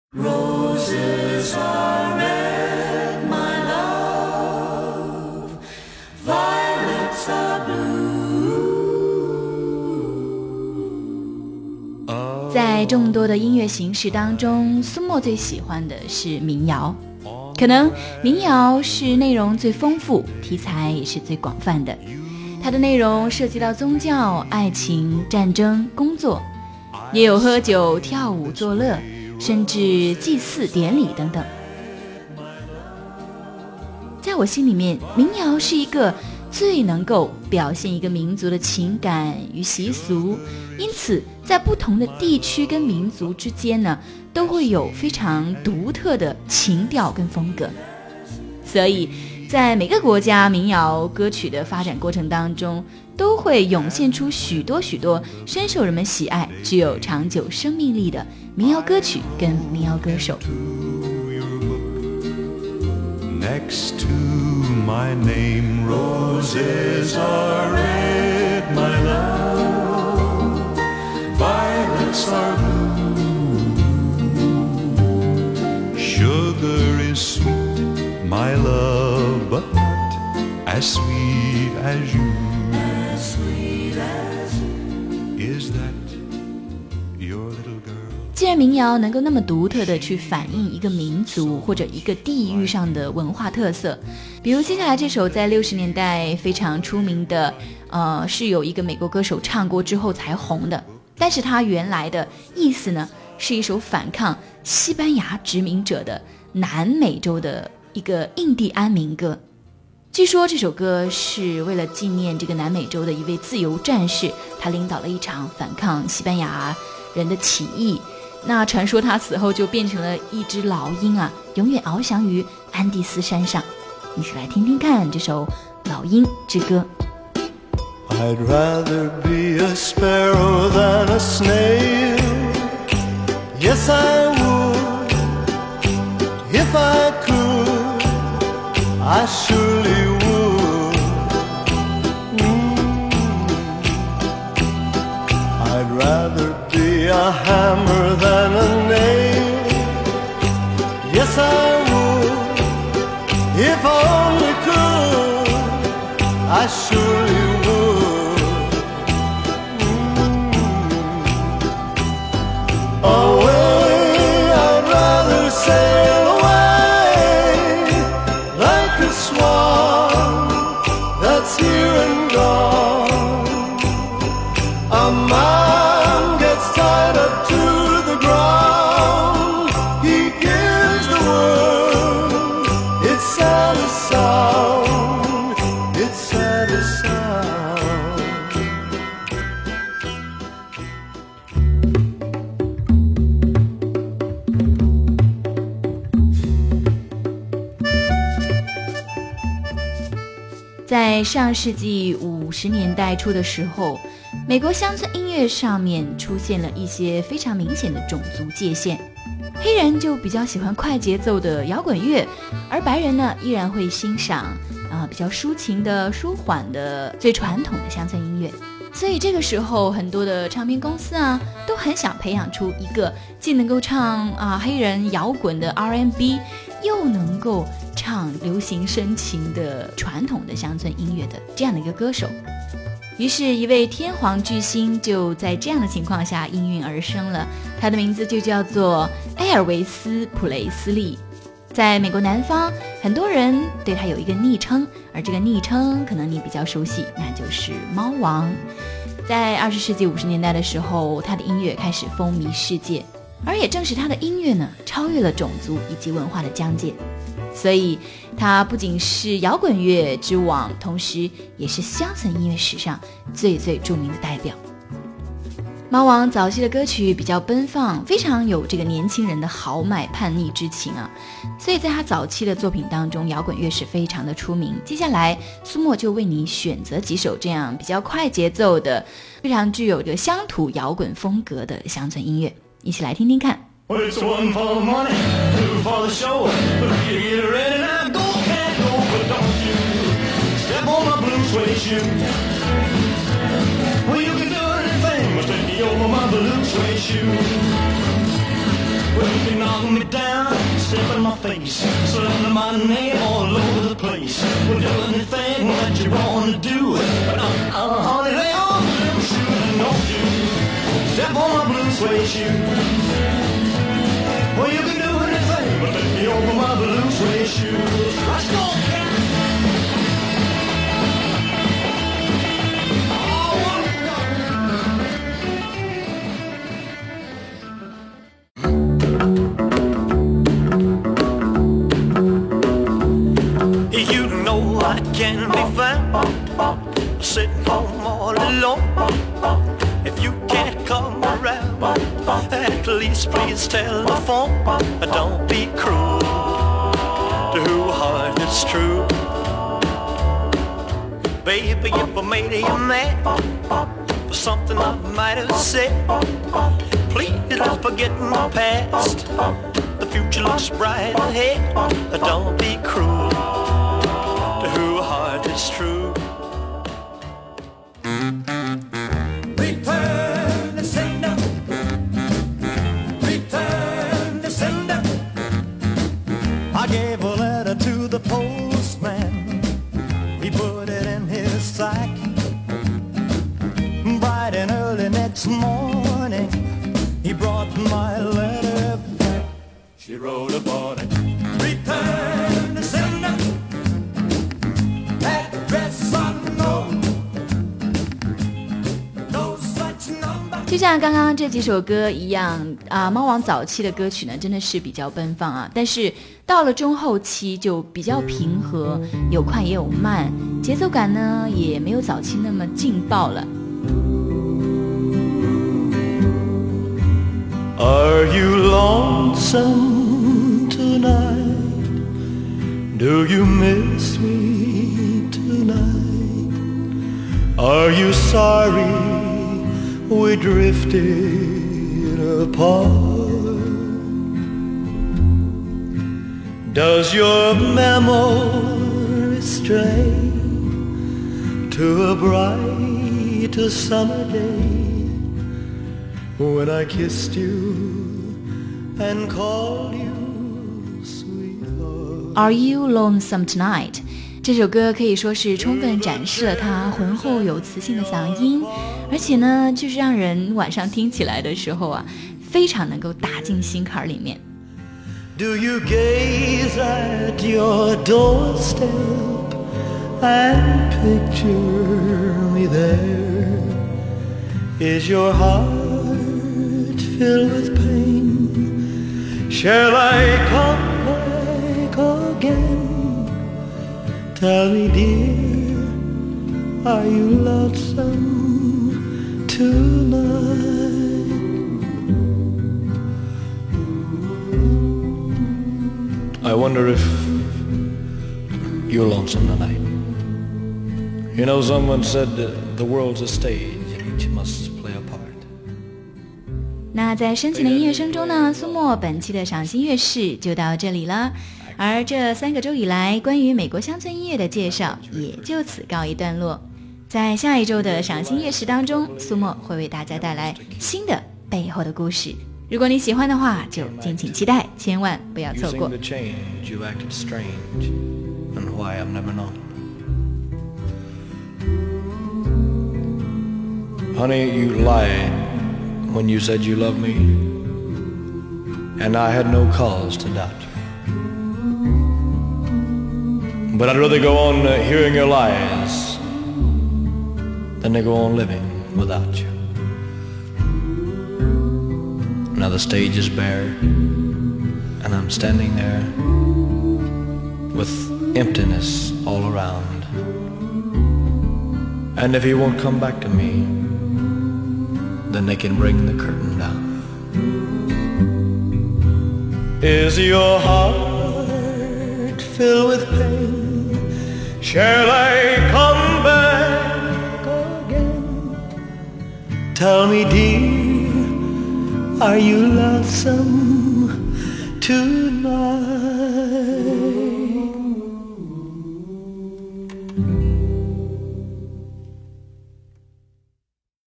Roses are red, my love. Violets are blue. 在众多的音乐形式当中，苏沫最喜欢的是民谣。可能民谣是内容最丰富，题材也是最广泛的。它的内容涉及到宗教、爱情、战争、工作，也有喝酒、跳舞、作乐，甚至祭祀典礼等等。在我心里面，民谣是一个最能够表现一个民族的情感与习俗，因此在不同的地区跟民族之间呢，都会有非常独特的情调跟风格。所以在每个国家民谣歌曲的发展过程当中，都会涌现出许多深受人们喜爱、具有长久生命力的民谣歌曲跟民谣歌手。 Next to my name, roses are red, my love. Violets are blue. Sugar is sweet, my love, but not as sweet as you. As sweet as you. Is that your little girl? 既然民谣能够那么独特的去反映一个民族或者一个地域上的文化特色，比如接下来这首在60年代非常出名的是有一个美国歌手唱过之后才红的，但是它原来的意思呢是一首反抗西班牙殖民者的南美洲的一个印第安民歌。据说这首歌是为了纪念这个南美洲的一位自由战士，他领导了一场反抗西班牙人的起义，那传说他死后就变成了一只老鹰啊，永远翱翔于安第斯山上。一起来听听看这首老鹰之歌。 I'd rather be a sparrow than a snail. Yes, I would. If I could, I surely would. I'd rather be a hammer than a nail. Yes, I would. If I only could, I surely would. 在上世纪50年代初的时候，美国乡村音乐上面出现了一些非常明显的种族界限，黑人就比较喜欢快节奏的摇滚乐，而白人呢依然会欣赏比较抒情的、舒缓的、最传统的乡村音乐。所以这个时候很多的唱片公司啊都很想培养出一个既能够唱黑人摇滚的 R&B， 又能够唱流行深情的传统的乡村音乐的这样的一个歌手。于是一位天皇巨星就在这样的情况下应运而生了，他的名字就叫做埃尔维斯·普雷斯利。在美国南方，很多人对他有一个昵称，而这个昵称可能你比较熟悉，那就是猫王。在20世纪50年代的时候，他的音乐开始风靡世界，而也正是他的音乐呢，超越了种族以及文化的疆界。所以他不仅是摇滚乐之王，同时也是乡村音乐史上最著名的代表。猫王早期的歌曲比较奔放，非常有这个年轻人的豪迈叛逆之情啊，所以在他早期的作品当中，摇滚乐是非常的出名。接下来苏沫就为你选择几首这样比较快节奏的、非常具有这个乡土摇滚风格的乡村音乐，一起来听听看。 Well, it's one for the money, two for the show. But if you get ready now, go, can't go, but don't you step on my blue suede shoe. Well, you can do anything, but take me over my blue suede shoe. Well, you can knock me down, step in my face, slander my name all over the place. Well, do anything that you wanna do, but honey, lay on them shoes and don't you step on my blue suede shoes. Well, you can do anything but let me over my blue suede shoes. Let's go, cat. I can be found sitting home all alone. If you can't come around, at least please telephone. Don't be cruel to whose heart is true. Baby, if I made you mad for something I might have said, please don't forget my past. The future looks bright ahead. Don't be cruel. It's true. Return the sender. Return the sender. I gave a letter to the postman. He put it in his sack. Bright and early next morning, he brought my letter back. She wrote upon it. Return the sender. 就像刚刚这几首歌一样啊，猫王早期的歌曲呢真的是比较奔放啊，但是到了中后期就比较平和，有快也有慢，节奏感呢也没有早期那么劲爆了。 Are you lonesome tonight? Do you miss me tonight? Are you sorry we drifted apart? Does your memory stray to a bright summer day when I kissed you and called you sweetheart? Are you lonesome tonight? 这首歌可以说是充分展示了他浑厚有磁性的嗓音，而且呢，就是让人晚上听起来的时候啊，非常能够打进心坎里面。 Do you gaze at your doorstep and picture me there? Is your heart filled with pain? Shall I come back again? Tell me, dear, are you lonesome tonight? I wonder if you're lonesome tonight. You know, someone said the world's a stage and each must play a part. 那在深情的音乐声中呢，苏沫本期的赏心乐事就到这里了。而这3个周以来关于美国乡村音乐的介绍也就此告一段落。在下一周的赏心乐事当中，苏沫会为大家带来新的背后的故事。如果你喜欢的话，就敬请期待，千万不要错过。 Honey, you lied when you said you loved me, and I had no cause to doubt you. But I'd rather go on hearing your lies than to go on living without you. Now the stage is bare, and I'm standing there with emptiness all around. And if he won't come back to me, then they can bring the curtain down. Is your heart filled with pain? Shall I come back again? Tell me, dear, are you lonesome tonight?